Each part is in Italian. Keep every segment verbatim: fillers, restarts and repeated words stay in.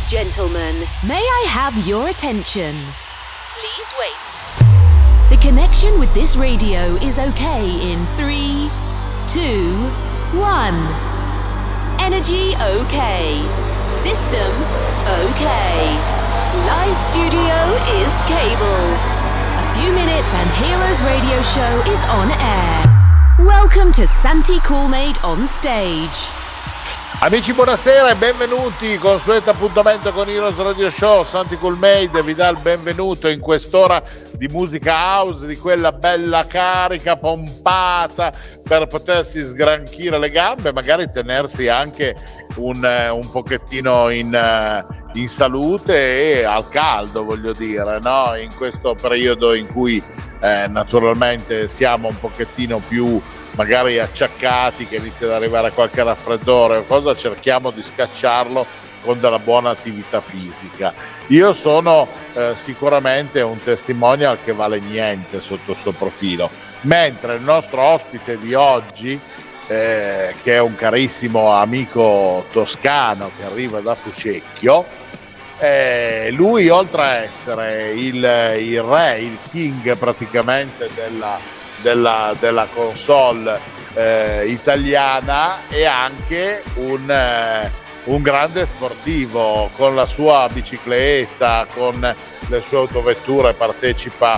Gentlemen, may I have your attention? Please wait. The connection with this radio is okay in three, two, one. Energy okay. System okay. Live studio is cable. A few minutes and Heroes Radio Show is on air. Welcome to Santi Coolmade on stage. Amici, buonasera e benvenuti. Consueto appuntamento con Heroes Radio Show. Santi Coolmade vi dà il benvenuto in quest'ora di musica house, di quella bella carica, pompata, per potersi sgranchire le gambe, magari tenersi anche un, un pochettino in, in salute e al caldo, voglio dire, no? In questo periodo in cui eh, naturalmente siamo un pochettino più magari acciaccati, che inizia ad arrivare qualche raffreddore o cosa, cerchiamo di scacciarlo con della buona attività fisica. Io sono eh, sicuramente un testimonial che vale niente sotto sto profilo, mentre il nostro ospite di oggi, eh, che è un carissimo amico toscano che arriva da Fucecchio, eh, lui oltre a essere il, il re, il king praticamente della Della, della console eh, italiana, è anche un, eh, un grande sportivo. Con la sua bicicletta, con le sue autovetture partecipa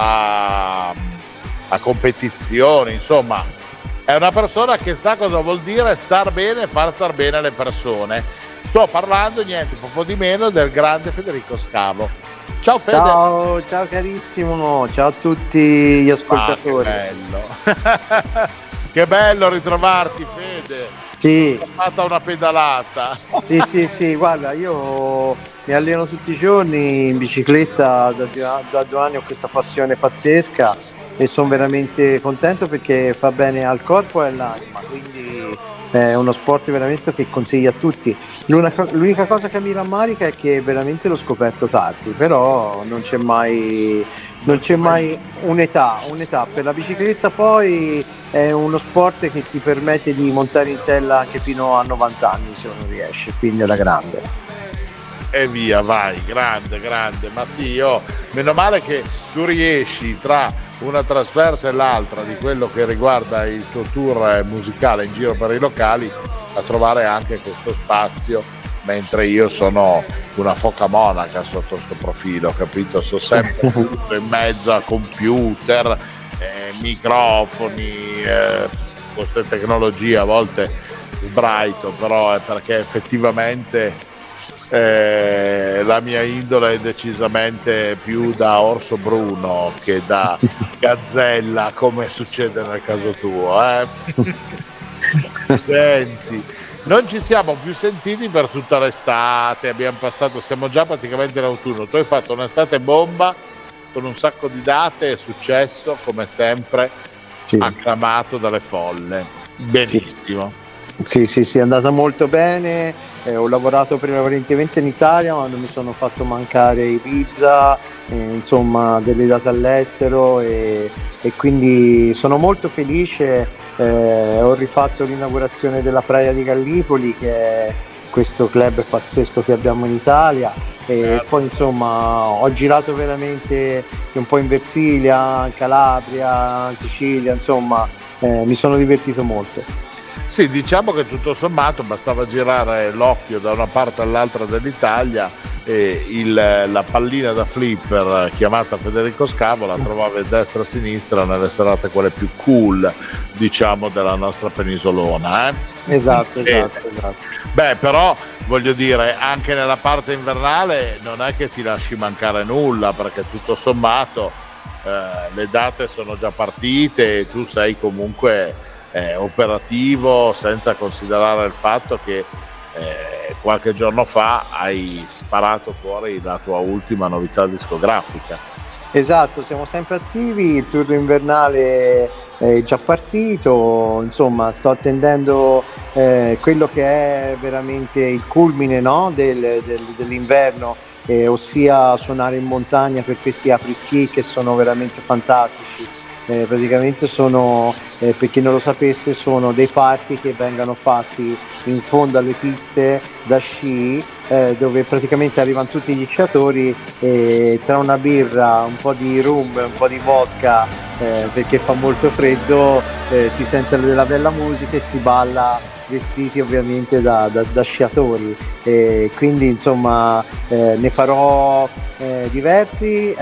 a, a competizioni, insomma è una persona che sa cosa vuol dire star bene e far star bene le persone. Sto parlando niente poco di meno del grande Federico Scavo. Ciao Fede. Ciao, ciao carissimo, ciao a tutti gli ascoltatori. Ah, che bello. Che bello ritrovarti, Fede. Sì. Ho fatto una pedalata. Sì, sì, sì, guarda, io mi alleno tutti i giorni in bicicletta, da, da due anni ho questa passione pazzesca e sono veramente contento perché fa bene al corpo e all'anima, quindi è uno sport veramente che consiglio a tutti. L'unica, l'unica cosa che mi rammarica è che veramente l'ho scoperto tardi, però non c'è mai, non c'è mai un'età, un'età. Per la bicicletta poi è uno sport che ti permette di montare in sella anche fino a novanta anni se uno riesce, quindi è la grande. E via, vai, grande, grande. Ma sì, io, meno male che tu riesci tra una trasferta e l'altra di quello che riguarda il tuo tour musicale in giro per i locali a trovare anche questo spazio, mentre io sono una foca monaca sotto sto profilo, capito? Sono sempre tutto in mezzo a computer, eh, microfoni, eh, queste tecnologie. A volte sbraito, però è perché effettivamente Eh, la mia indole è decisamente più da orso bruno che da gazzella, come succede nel caso tuo, eh? Senti, non ci siamo più sentiti per tutta l'estate, abbiamo passato, siamo già praticamente in autunno. Tu hai fatto un'estate bomba con un sacco di date, è successo come sempre, sì, acclamato dalle folle. Benissimo. Sì, sì, sì, è andata molto bene, eh, ho lavorato prevalentemente in Italia, ma non mi sono fatto mancare Ibiza, eh, insomma delle date all'estero e, e quindi sono molto felice. Eh, ho rifatto l'inaugurazione della Praia di Gallipoli, che è questo club pazzesco che abbiamo in Italia, e eh. poi insomma ho girato veramente un po' in Versilia, in Calabria, in Sicilia, insomma eh, mi sono divertito molto. Sì, diciamo che tutto sommato bastava girare l'occhio da una parte all'altra dell'Italia e il, la pallina da flipper chiamata Federico Scavo la trovavi a destra e a sinistra nelle serate quelle più cool, diciamo, della nostra penisolona, eh? Esatto, e, esatto, esatto. Beh, però voglio dire, anche nella parte invernale non è che ti lasci mancare nulla, perché tutto sommato eh, le date sono già partite e tu sei comunque Eh, operativo, senza considerare il fatto che eh, qualche giorno fa hai sparato fuori la tua ultima novità discografica. Esatto, siamo sempre attivi, il tour invernale è già partito, insomma sto attendendo eh, quello che è veramente il culmine, no? del, del, dell'inverno, eh, ossia suonare in montagna per questi apri-ski che sono veramente fantastici. eh, praticamente sono, eh, per chi non lo sapesse, sono dei party che vengono fatti in fondo alle piste da sci, eh, dove praticamente arrivano tutti gli sciatori e tra una birra, un po' di rum, un po' di vodka, eh, perché fa molto freddo, eh, si sente della bella musica e si balla vestiti ovviamente da, da, da sciatori, e quindi insomma eh, ne farò eh, diversi,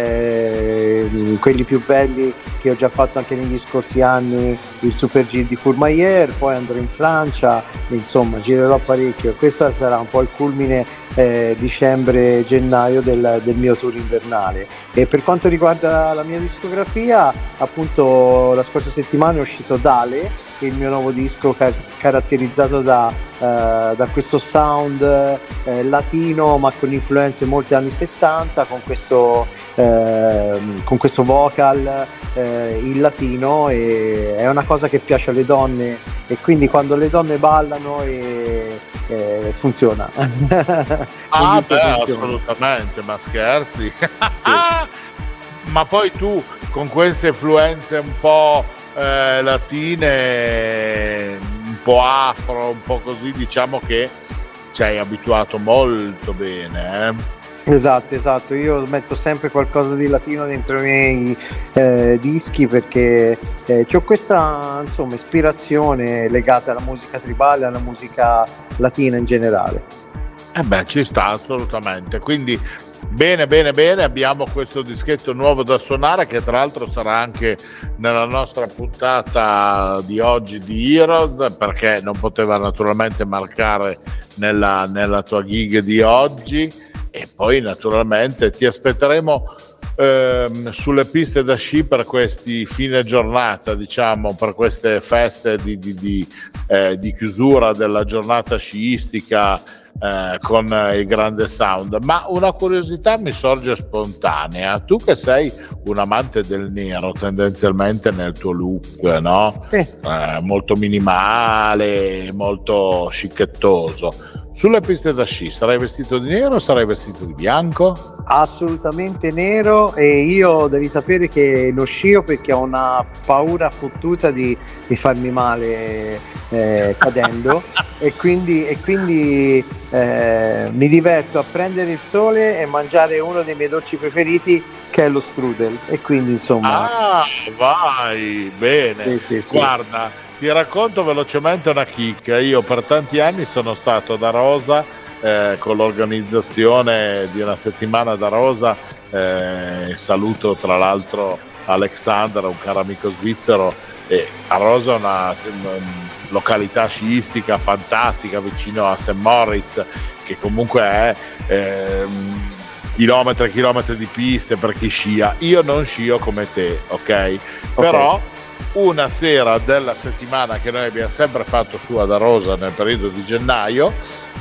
eh, quelli più belli che ho già fatto anche negli scorsi anni, il Super G di Courmayeur, poi andrò in Francia, insomma girerò parecchio. Questo sarà un po' il culmine eh, dicembre-gennaio del, del mio tour invernale. E per quanto riguarda la mia discografia, appunto la scorsa settimana è uscito Dale, il mio nuovo disco car- caratterizzato da, uh, da questo sound eh, latino ma con influenze molto anni settanta, con questo, eh, con questo vocal eh, in latino, e è una cosa che piace alle donne, e quindi quando le donne ballano e, e funziona. Ah beh, funziona. Assolutamente, ma scherzi? Sì. Ma poi tu con queste influenze un po' Eh, latine, un po' afro, un po' così, diciamo che ci hai abituato molto bene, eh? Esatto, esatto, io metto sempre qualcosa di latino dentro i miei eh, dischi, perché eh, ho questa insomma ispirazione legata alla musica tribale, alla musica latina in generale. Eh beh, ci sta assolutamente, quindi bene bene bene, abbiamo questo dischetto nuovo da suonare, che tra l'altro sarà anche nella nostra puntata di oggi di Heroes, perché non poteva naturalmente mancare nella, nella tua gig di oggi. E poi naturalmente ti aspetteremo ehm, sulle piste da sci per questi fine giornata, diciamo, per queste feste di, di, di, eh, di chiusura della giornata sciistica, Eh, con il grande sound. Ma una curiosità mi sorge spontanea: tu che sei un amante del nero tendenzialmente nel tuo look, no? Sì. Eh, molto minimale, molto scicchettoso, sulle piste da sci sarai vestito di nero o sarai vestito di bianco? Assolutamente nero, e io devi sapere che lo scio perché ho una paura fottuta di, di farmi male eh, cadendo e quindi, e quindi eh, mi diverto a prendere il sole e mangiare uno dei miei dolci preferiti, che è lo strudel, e quindi insomma ah vai bene. Sì, sì, sì. Guarda, ti racconto velocemente una chicca. Io per tanti anni sono stato da Rosa, Eh, con l'organizzazione di una settimana da Rosa, eh, saluto tra l'altro Alexander, un caro amico svizzero, e a Rosa è una, una località sciistica fantastica vicino a Saint Moritz, che comunque è eh, chilometri e chilometri di piste per chi scia. Io non scio come te, ok? okay. Però una sera della settimana che noi abbiamo sempre fatto su ad Arosa nel periodo di gennaio,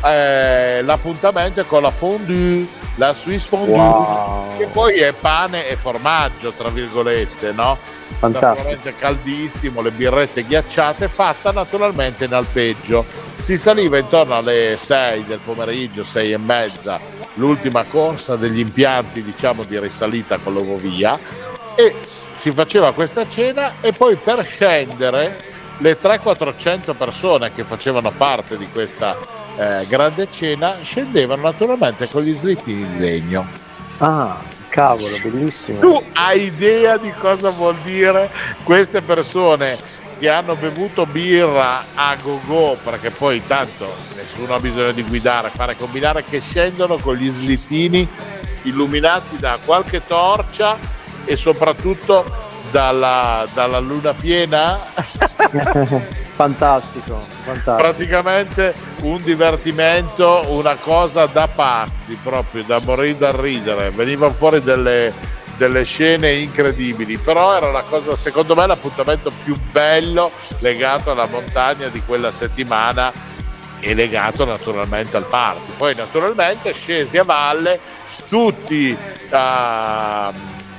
eh, l'appuntamento è con la fondue, la Swiss fondue, wow. Che poi è pane e formaggio, tra virgolette, no? Naturalmente caldissimo, le birrette ghiacciate, fatta naturalmente in alpeggio. Si saliva intorno alle sei del pomeriggio, sei e mezza, l'ultima corsa degli impianti, diciamo, di risalita con l'ovovia, e si faceva questa cena, e poi per scendere le trecento quattrocento persone che facevano parte di questa eh, grande cena scendevano naturalmente con gli slittini di legno. Ah, cavolo, bellissimo. Tu hai idea di cosa vuol dire queste persone che hanno bevuto birra a go-go, perché poi tanto nessuno ha bisogno di guidare, fare combinare, che scendono con gli slittini illuminati da qualche torcia e soprattutto dalla, dalla luna piena? Fantastico, fantastico. Praticamente un divertimento, una cosa da pazzi, proprio da morire da ridere. Venivano fuori delle, delle scene incredibili, però era la cosa, secondo me, l'appuntamento più bello legato alla montagna di quella settimana e legato naturalmente al party. Poi naturalmente scesi a valle tutti a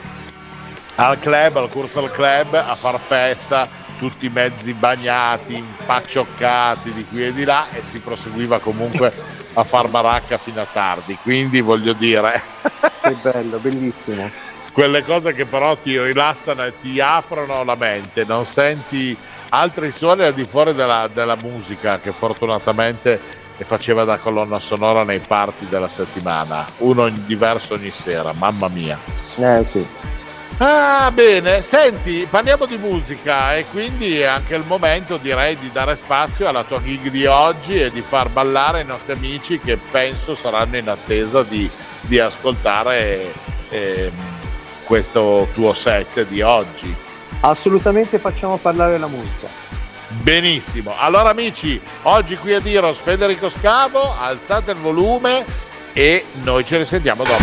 al club, al corso al club, a far festa, tutti mezzi bagnati, impaccioccati di qui e di là, e si proseguiva comunque a far baracca fino a tardi. Quindi voglio dire, che bello, bellissimo. quelle cose che però ti rilassano e ti aprono la mente, non senti altri suoni al di fuori della, della musica che fortunatamente faceva da colonna sonora nei party della settimana, uno in diverso ogni sera, mamma mia. Eh sì. Ah, bene, senti, parliamo di musica e quindi è anche il momento, direi, di dare spazio alla tua gig di oggi e di far ballare i nostri amici che penso saranno in attesa di, di ascoltare eh, questo tuo set di oggi. Assolutamente, facciamo parlare la musica. Benissimo, allora amici, oggi qui a Diros Federico Scavo, alzate il volume e noi ci risentiamo dopo.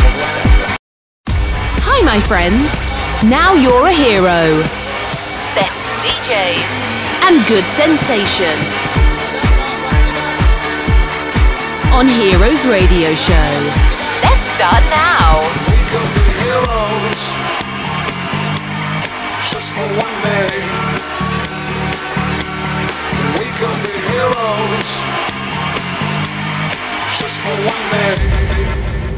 Hi my friends, now you're a hero. Best D Js and good sensation on Heroes Radio Show. Let's start now. We could be heroes just for one day. We could be heroes just for one day.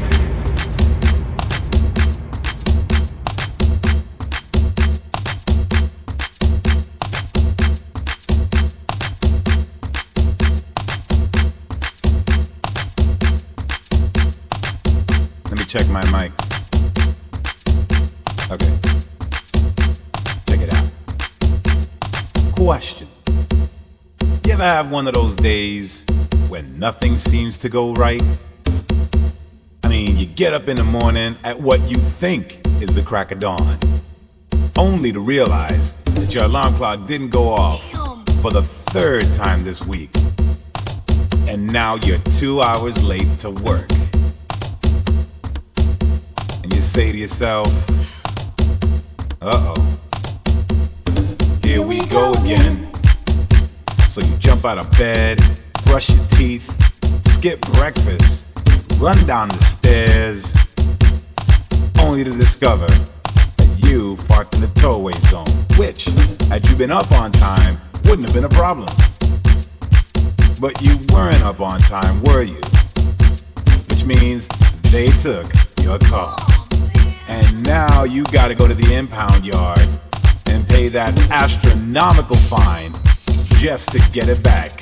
Check my mic. Okay. Check it out. Question. You ever have one of those days when nothing seems to go right? I mean, you get up in the morning at what you think is the crack of dawn, only to realize that your alarm clock didn't go off for the third time this week. And now you're two hours late to work. You say to yourself, uh-oh, here we go again. So you jump out of bed, brush your teeth, skip breakfast, run down the stairs, only to discover that you've parked in the towaway zone, which, had you been up on time, wouldn't have been a problem. But you weren't up on time, were you? Which means they took your car. And now you gotta go to the impound yard and pay that astronomical fine just to get it back.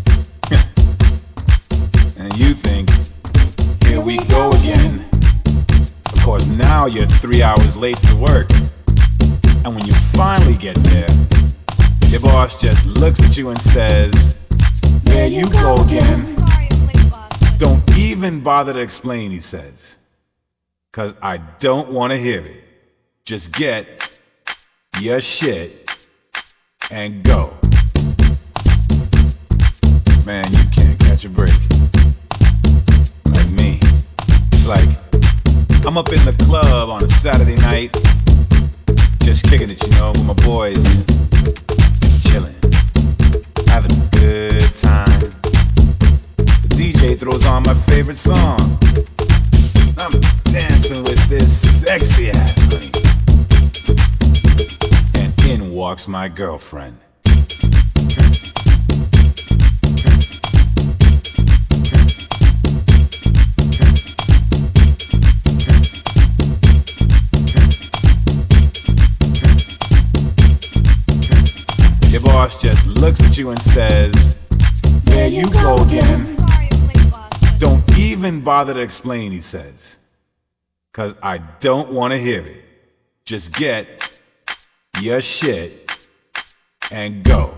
And you think, here we go again. Of course, now you're three hours late to work. And when you finally get there, your boss just looks at you and says, there you go again. Don't even bother to explain, he says. Cause I don't want to hear it. Just get your shit and go. Man, you can't catch a break. Like me. It's like I'm up in the club on a Saturday night, just kicking it, you know, with my boys, chilling, having a good time. The D J throws on my favorite song. I'm dancing with this sexy ass honey. And in walks my girlfriend. Your boss just looks at you and says, there you go again. Don't even bother to explain, he says. Cause I don't want to hear it. Just get your shit and go.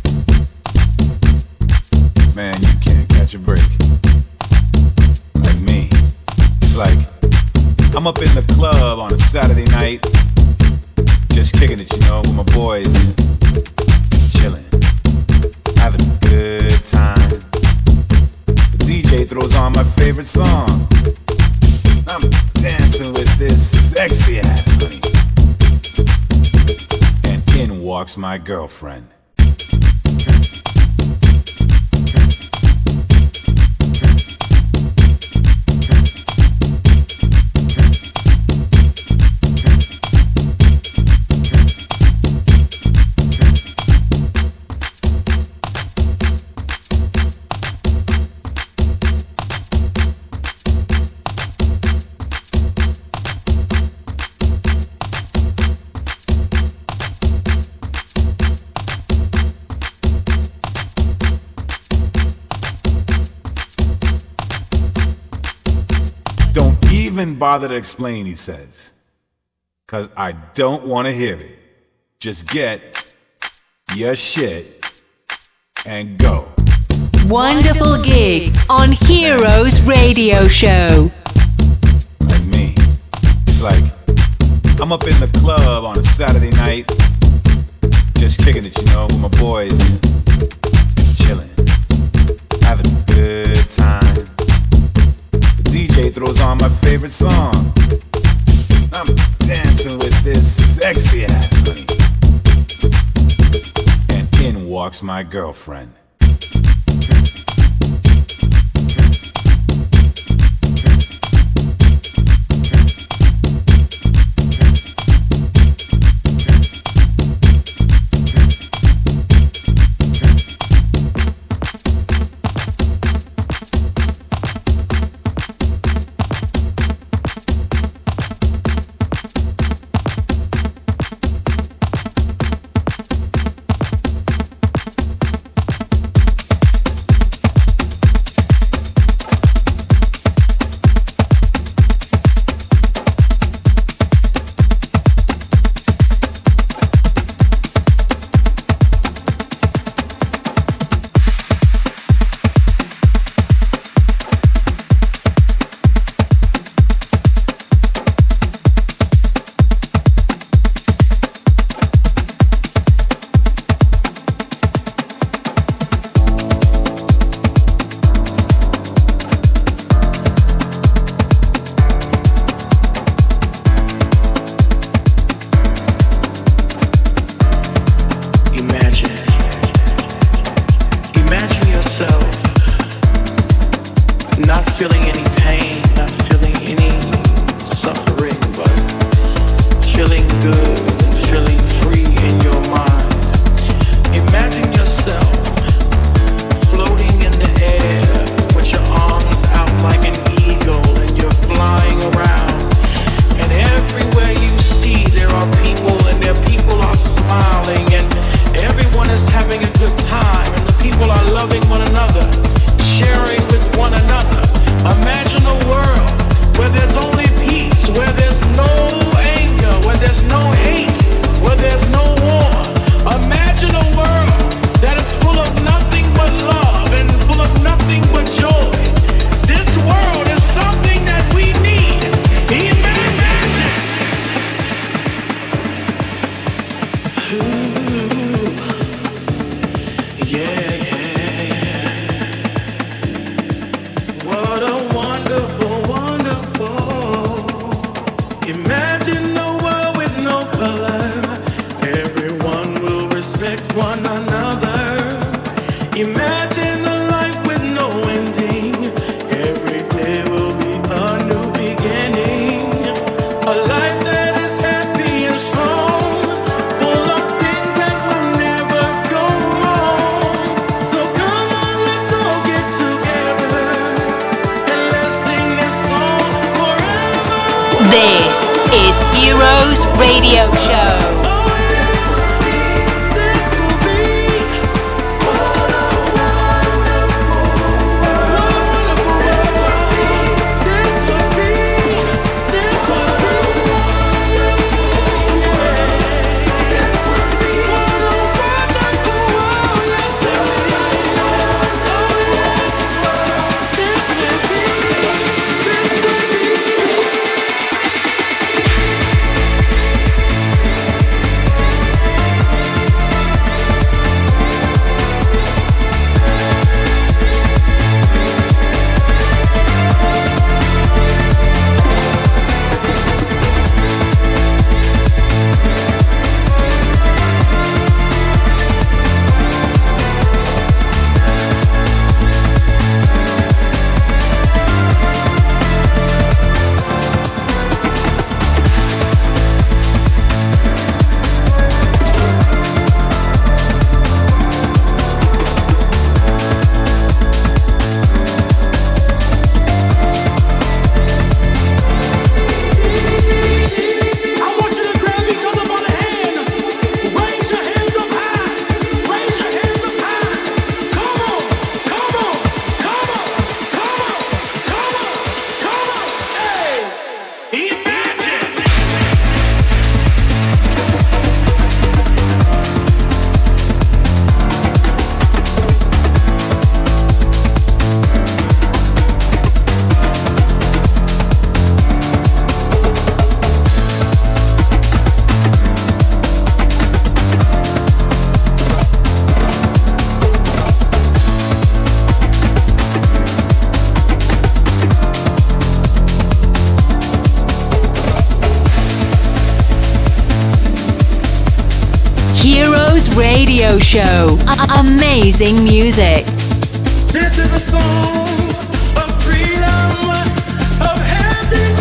Man, you can't catch a break. Like me. It's like I'm up in the club on a Saturday night, just kicking it, you know, with my boys, chilling, having a good time. The D J throws on my favorite song. I'm dancing with this sexy ass honey. And in walks my girlfriend. even bother to explain, he says. Cause I don't want to hear it. Just get your shit and go. Wonderful gig on Heroes Radio Show. Like me. It's like I'm up in the club on a Saturday night, just kicking it, you know, with my boys, chilling, having a good time. The D J throws on my favorite song. I'm dancing with this sexy ass honey. And in walks my girlfriend. Radio Show. A- amazing music. This is a song of freedom, of happiness.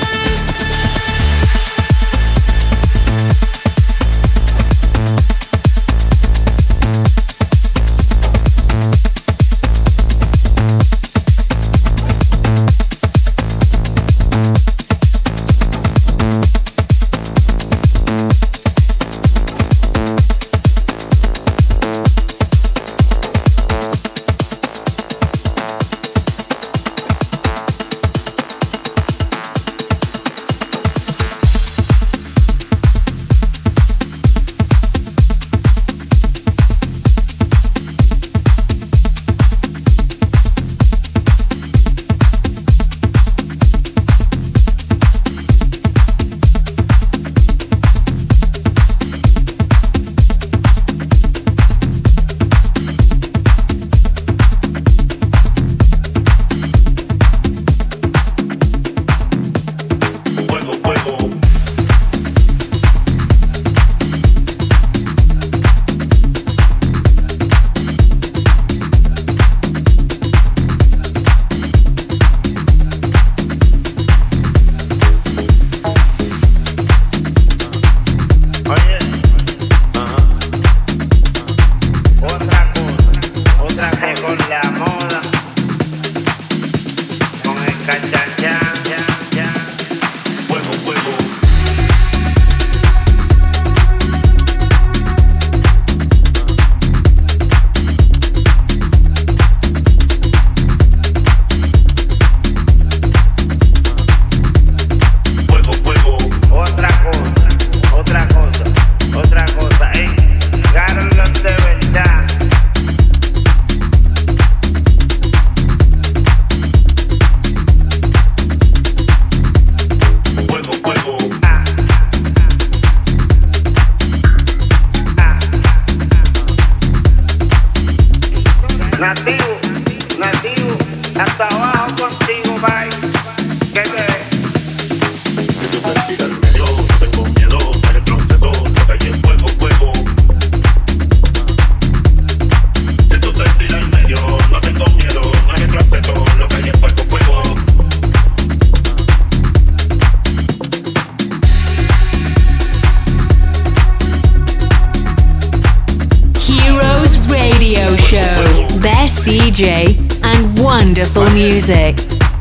D J and wonderful music.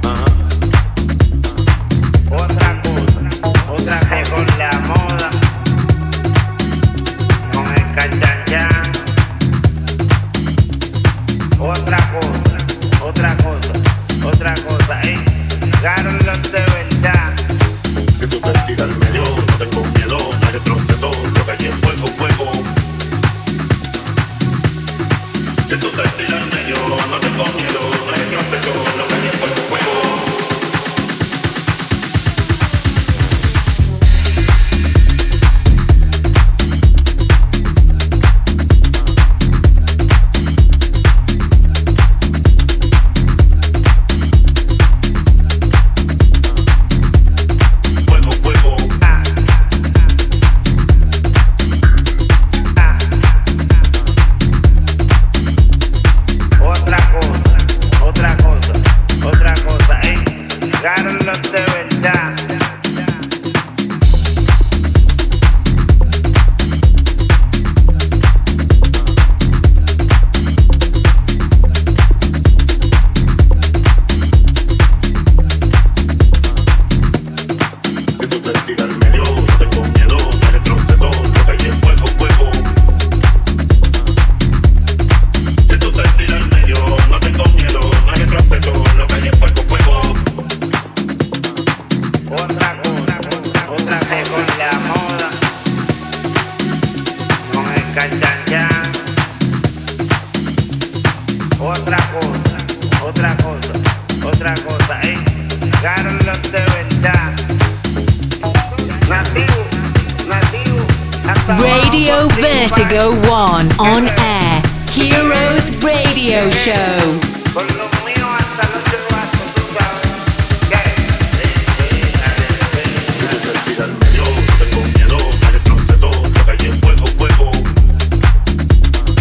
Otra cosa, otra que con la moda, con el cachanchán. Otra cosa, otra cosa, otra cosa, eh. Carlos de verdad. Si tú te tiras al medio, no tengo miedo, no hay retroceso, lo que hay es fuego, fuego. Si tú te tiras al medio, no tengo miedo, no hay retroceso, lo que hay es fuego, fuego. Radio Vertigo One on air. Heroes Radio Show. No tengo miedo, no hay retroceso, lo que hay es fuego, fuego.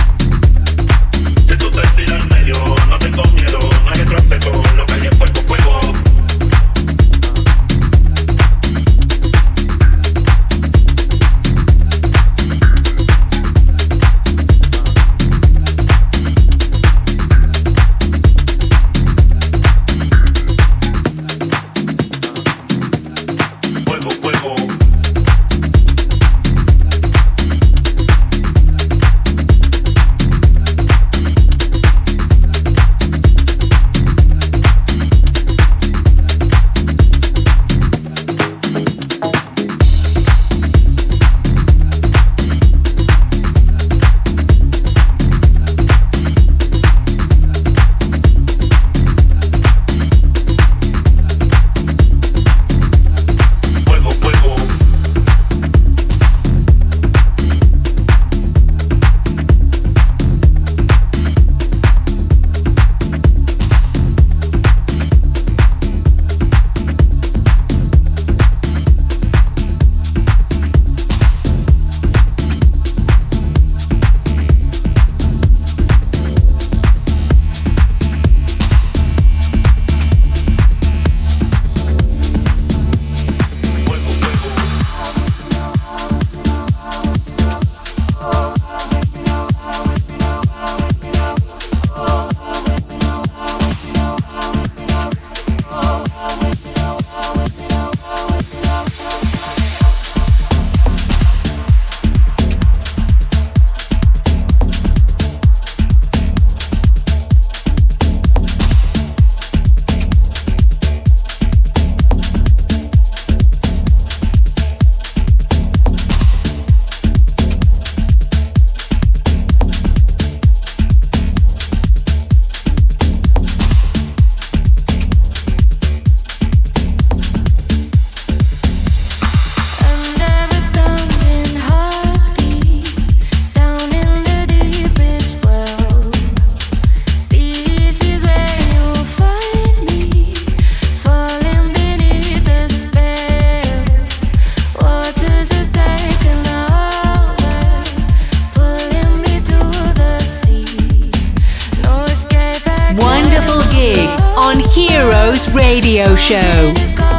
Heroes Radio Show.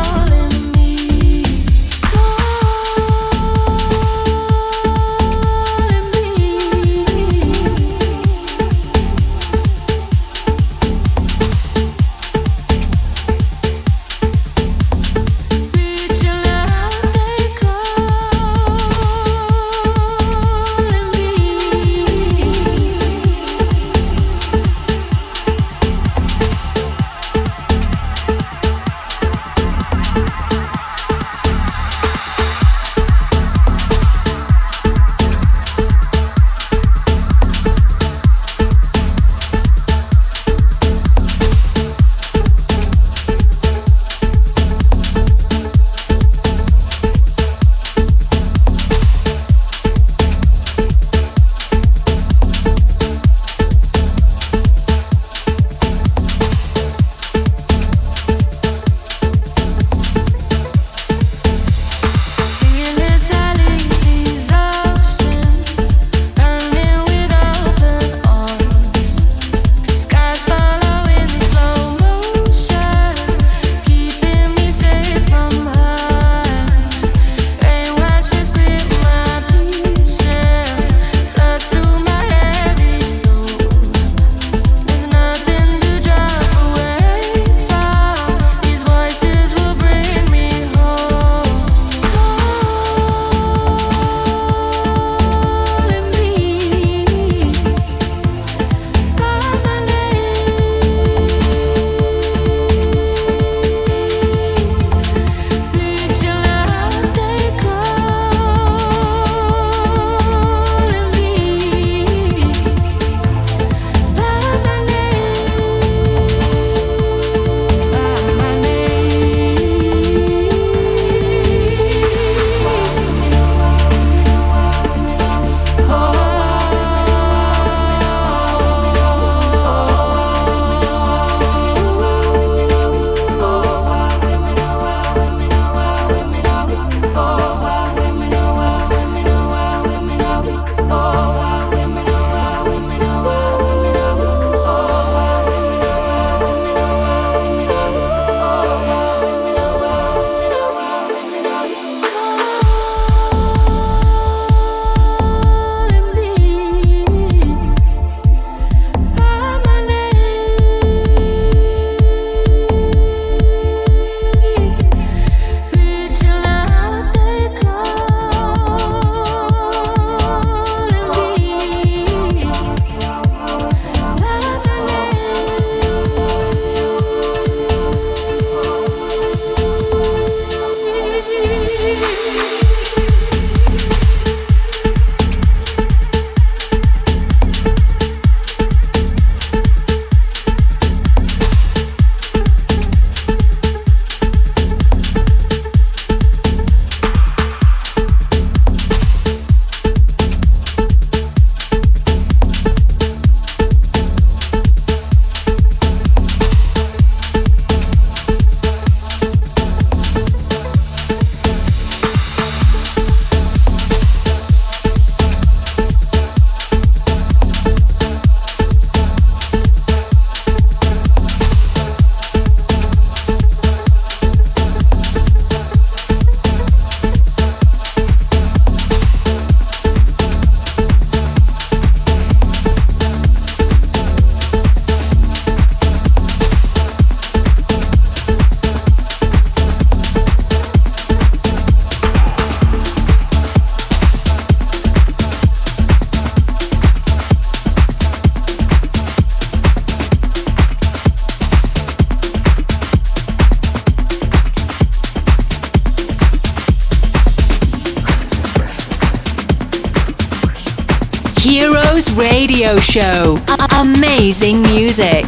Heroes Radio Show. A- amazing music.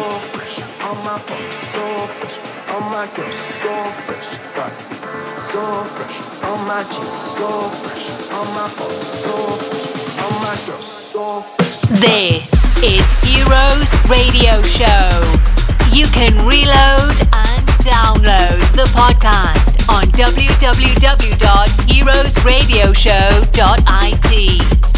fresh, all my boys so fresh, all my girls so fresh, God. So fresh, all my G's so fresh, all my boys so fresh, all my girls so fresh. This is Heroes Radio Show. You can reload and download the podcast on w w w dot heroes radio show dot i t.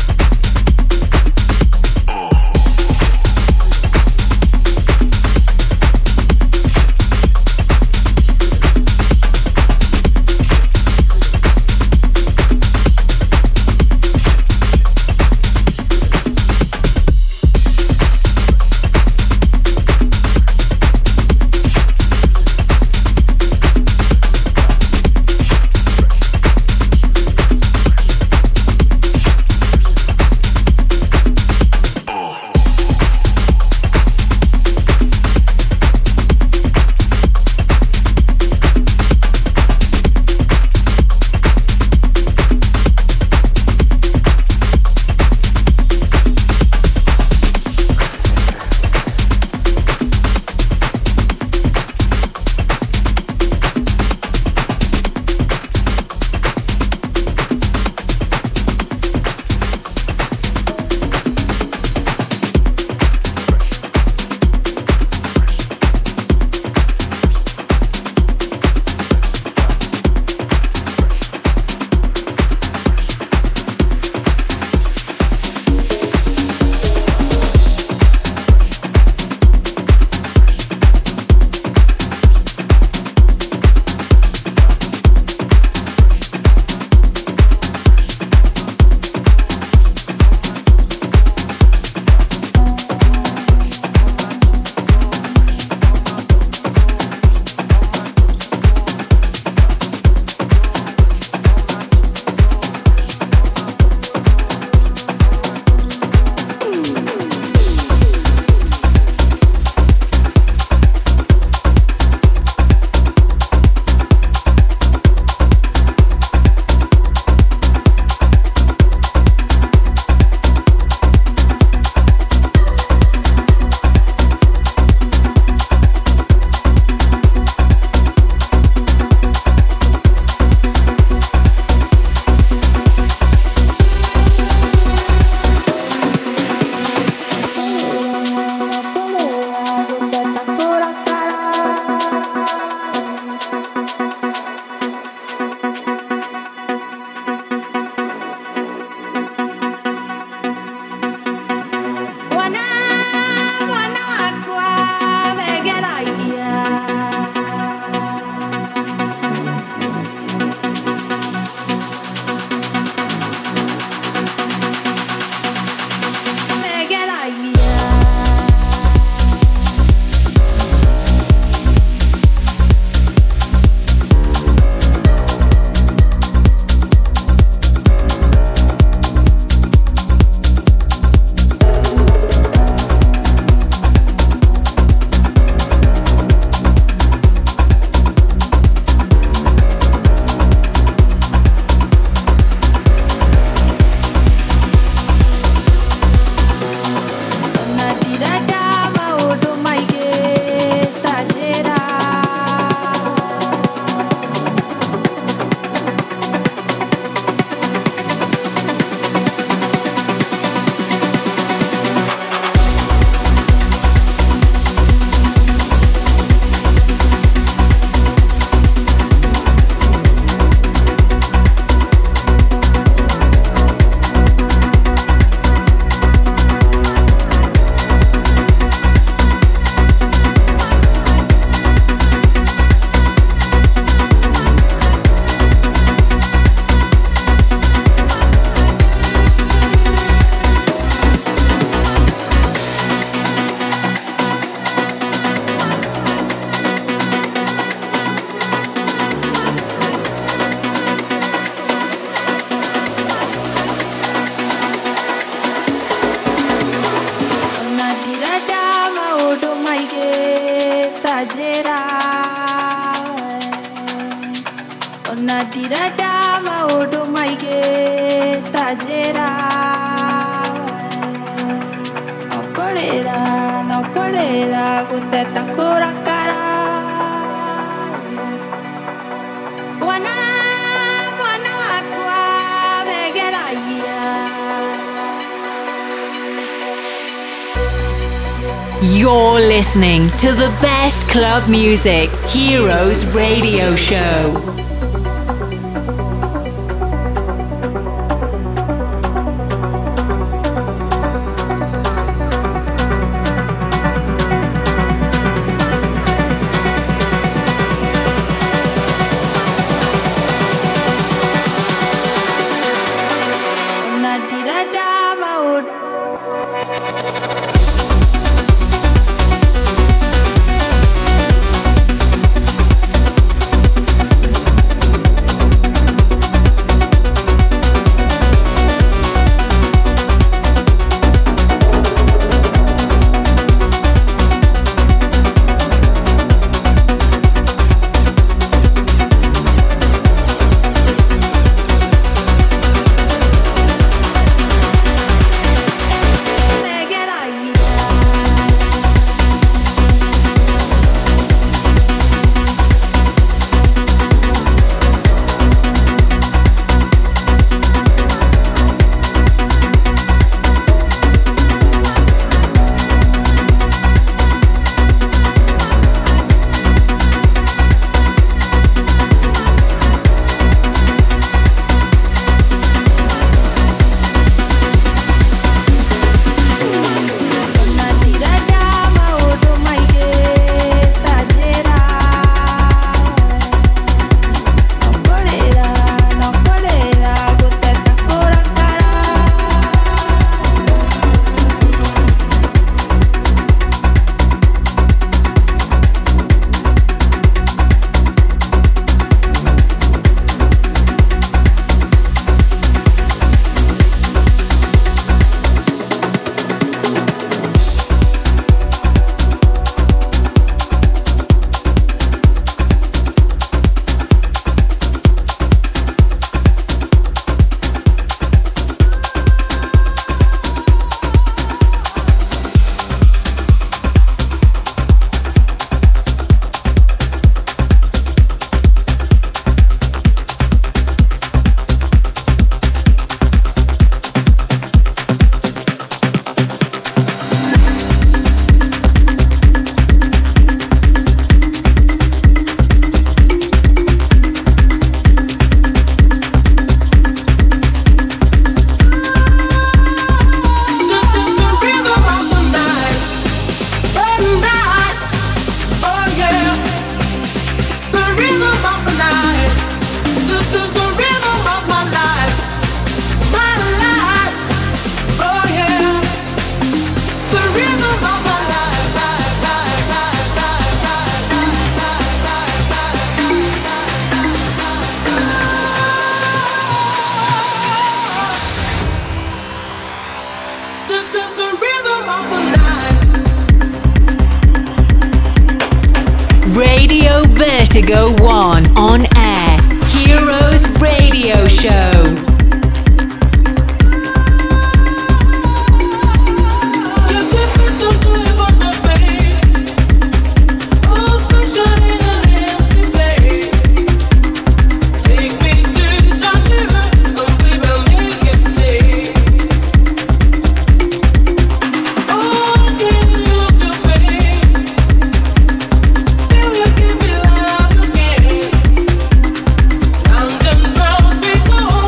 Nadirada maodo maige tajera Nokolera, nokolera guteta kurakara wana mwana wakwa begeraia. You're listening to the best club music, Heroes Radio Show. Radio Vertigo One on air. Heroes Radio Show. Round and round we go.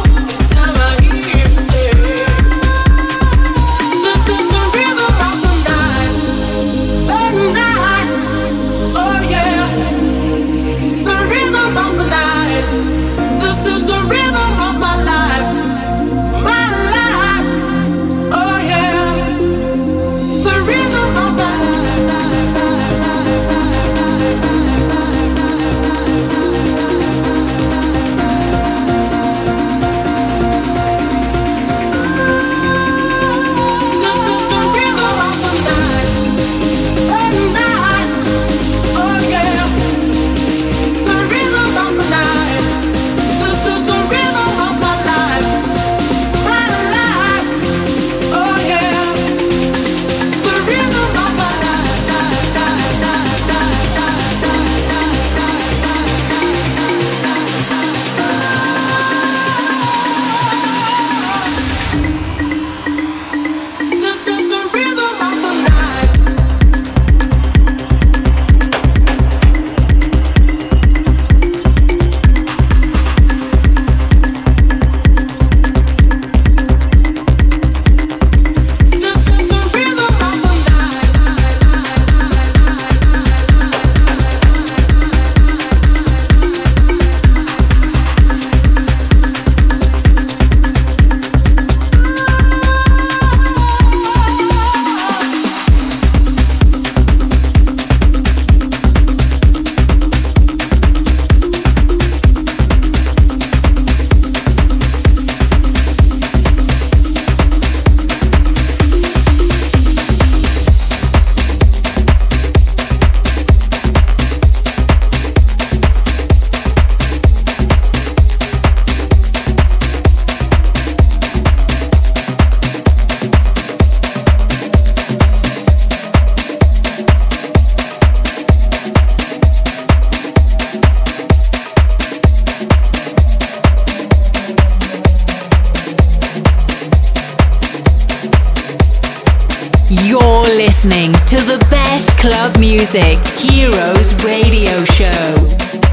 You're listening to the best club music, Heroes Radio Show.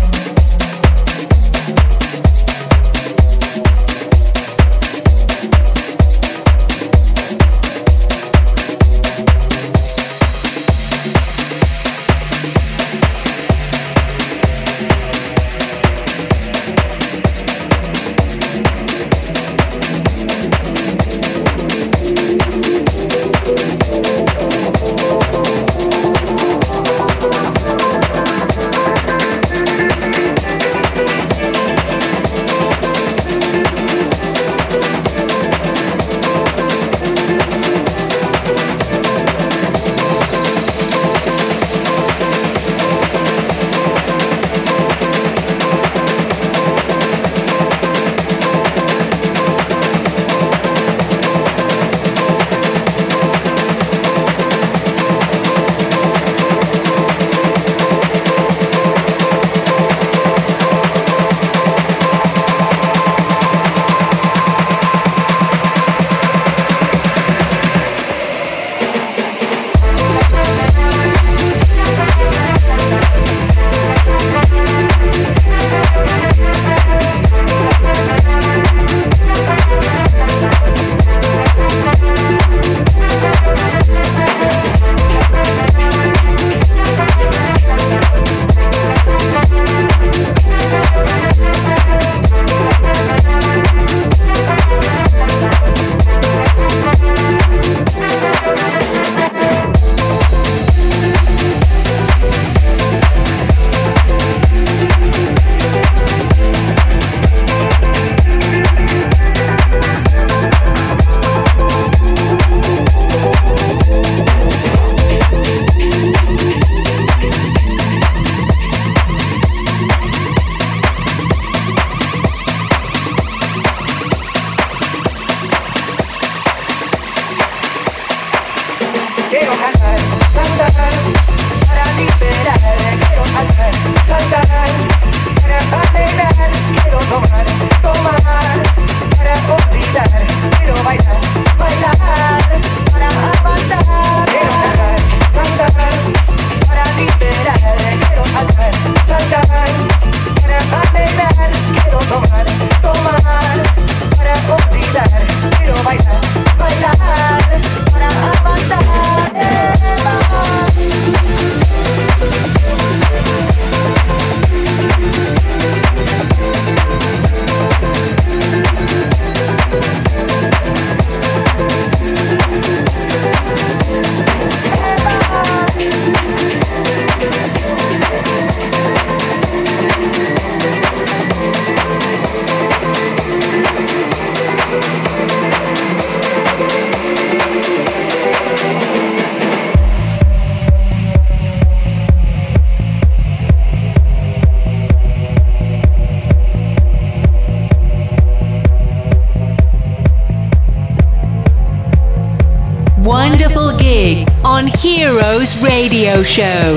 Wonderful gig on Heroes Radio Show.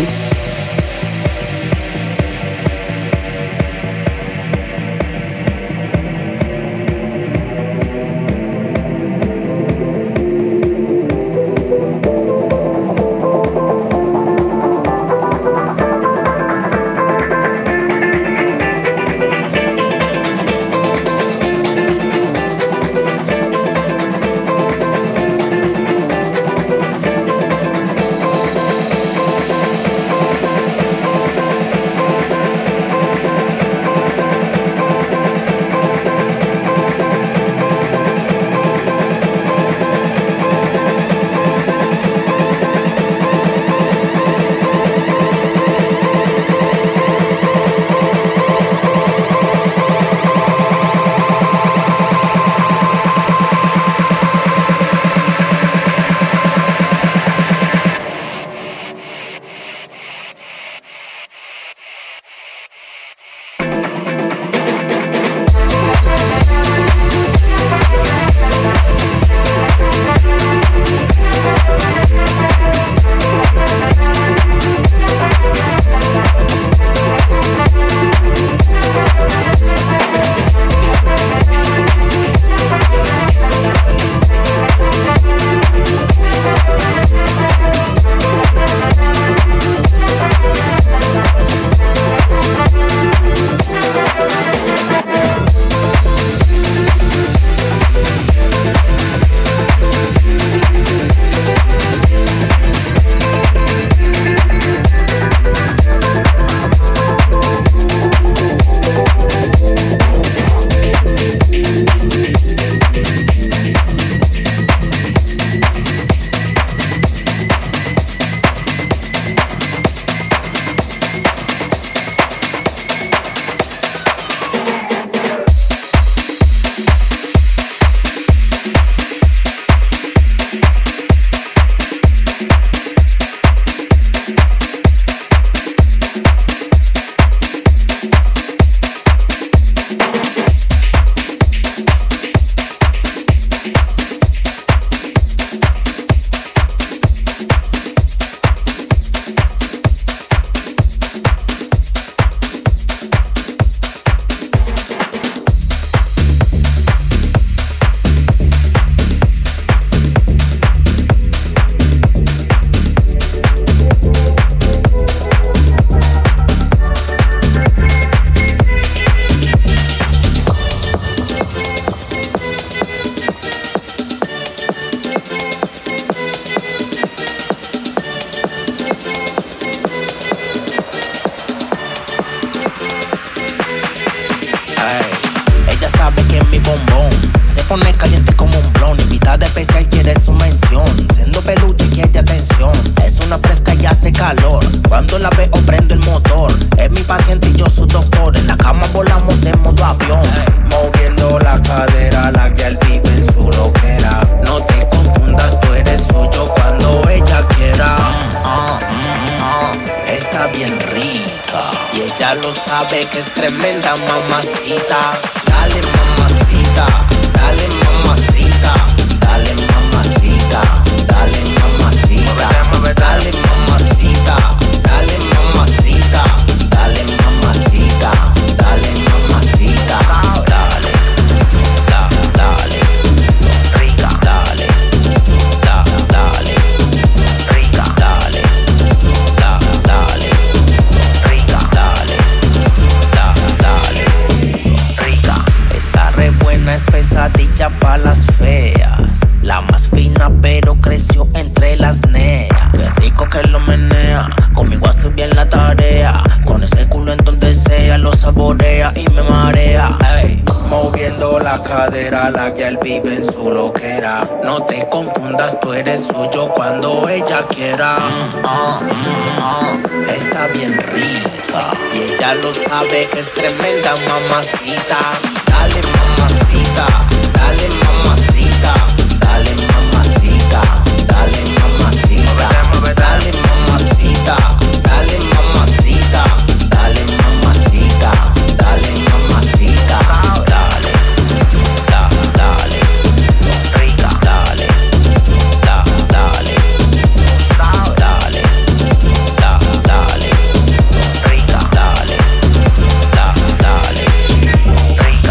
sabe que es tremenda mamacita. Dale mamacita, dale mamacita, dale mamacita, dale mamacita, dale mamacita, dale mamacita, dale mamacita, dale mamacita, dale, da, dale, rica, dale, da, dale, rica, dale, da, dale, rica, dale, da, dale, rica. Está re buena, es pesadilla pa' las feas. La más fina pero creció entre las neas. Qué rico que lo menea, conmigo hace bien la tarea. Con ese culo en donde sea lo saborea y me marea. Ey, moviendo la cadera, la que él vive en su loquera. No te confundas, tú eres suyo cuando ella quiera. Mm, ah, mm, ah. Está bien rica y ella lo sabe que es tremenda mamacita. Dale mamacita, dale mamacita, dale mamacita, dale mamacita, dale mamacita, dale mamacita, dale mamacita, dale mamacita, dale, da, dale, rica, dale, da, dale, dale, da, dale, rica, dale, da, dale, rica.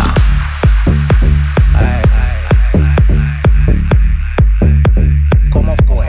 ¿Cómo fue?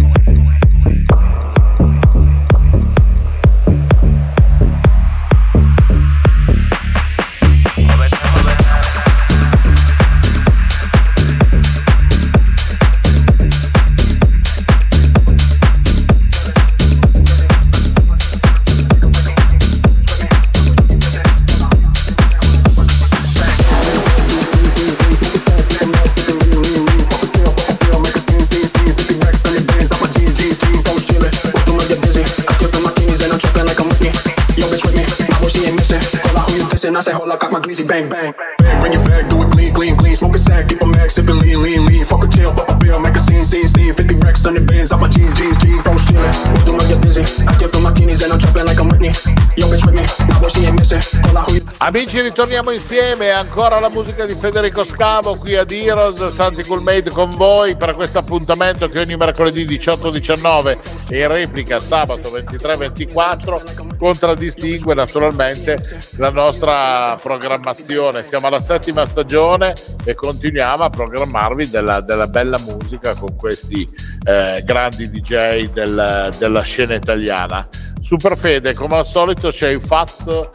I say hold up, cock my glizzy, bang bang. Bang, bring it back, do it clean, clean, clean. Smoke a sack, keep a max, sippin' lean, lean, lean. Fuck a chill, pop a bill, make a scene, scene, scene. fifty racks on the bins, out my jeans, jeans, jeans. Froze chillin', what do know you're busy? I give them my guineas and I'm trapping like I'm Whitney. Yo, bitch with me, my boy she ain't missing. Hold up, who you... Amici, ritorniamo insieme, ancora la musica di Federico Scavo qui ad Heroes, Santi Cool Made con voi per questo appuntamento che ogni mercoledì diciotto diciannove e in replica sabato ventitré ventiquattro contraddistingue naturalmente la nostra programmazione. Siamo alla settima stagione e continuiamo a programmarvi della, della bella musica con questi eh, grandi D J del, della scena italiana. Super Fede, come al solito ci hai fatto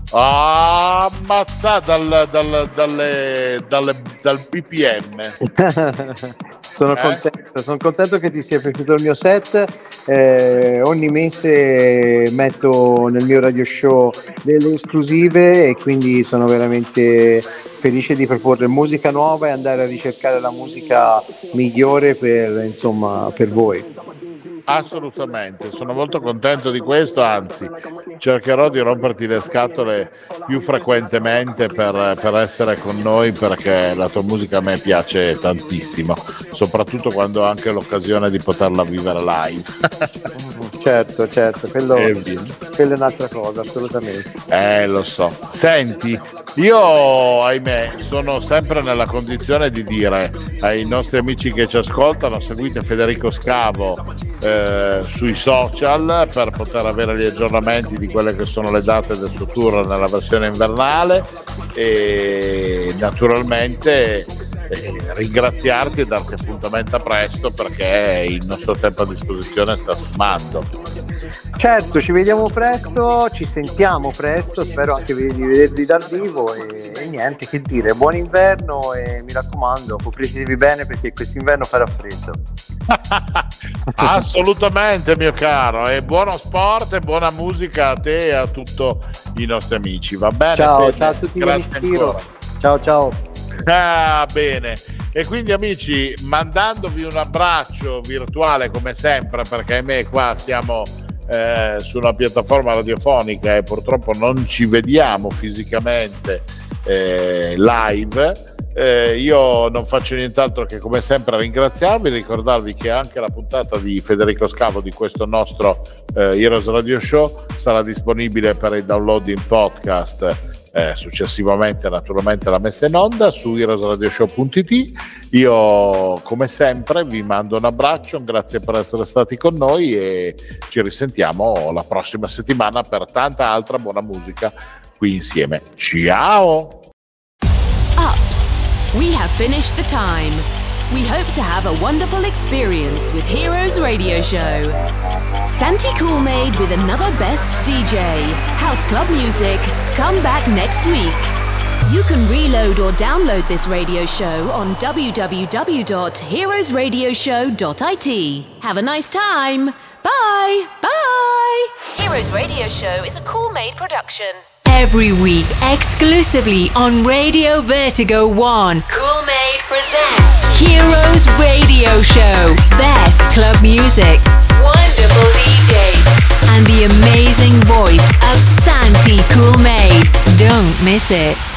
ammazzata dal, dal, dalle, dalle, dal B P M. Sono, eh? contento, sono contento che ti sia piaciuto il mio set. Eh, ogni mese metto nel mio radio show delle esclusive e quindi sono veramente felice di proporre musica nuova e andare a ricercare la musica migliore per, insomma, per voi. Assolutamente, sono molto contento di questo, anzi cercherò di romperti le scatole più frequentemente per, per essere con noi, perché la tua musica a me piace tantissimo, soprattutto quando ho anche l'occasione di poterla vivere live. Certo, certo, quello, quello è un'altra cosa, assolutamente. Eh, lo so. Senti, io, ahimè, sono sempre nella condizione di dire ai nostri amici che ci ascoltano: seguite Federico Scavo eh, sui social per poter avere gli aggiornamenti di quelle che sono le date del suo tour nella versione invernale, e naturalmente eh, ringraziarti e darti appuntamento a presto, perché il nostro tempo a disposizione sta sfumando. Certo, ci vediamo presto, ci sentiamo presto, spero anche di vedervi dal vivo e, e niente che dire, buon inverno e mi raccomando, copritevi bene perché quest'inverno farà freddo. Assolutamente, mio caro, e buono sport e buona musica a te e a tutti i nostri amici, va bene? Ciao, Fede? ciao a tutti gli Grazie amici. ancora. Ciao ciao. Ah, bene. E quindi, amici, mandandovi un abbraccio virtuale come sempre, perché ahimè qua siamo eh, su una piattaforma radiofonica e purtroppo non ci vediamo fisicamente eh, live, Eh, io non faccio nient'altro che come sempre ringraziarvi, ricordarvi che anche la puntata di Federico Scavo di questo nostro eh, Heroes Radio Show sarà disponibile per il download in podcast eh, successivamente, naturalmente la messa in onda su heroes radio show punto it. Io come sempre vi mando un abbraccio, grazie per essere stati con noi e ci risentiamo la prossima settimana per tanta altra buona musica qui insieme. Ciao! We have finished the time. We hope to have a wonderful experience with Heroes Radio Show. Santi Coolmade with another best D J. House club music. Come back next week. You can reload or download this radio show on w w w dot heroes radio show dot i t. Have a nice time. Bye. Bye. Heroes Radio Show is a Coolmade production. Every week, exclusively on Radio Vertigo One, Coolmade presents Heroes Radio Show. Best club music, wonderful D Js, and the amazing voice of Santi Coolmade. Don't miss it.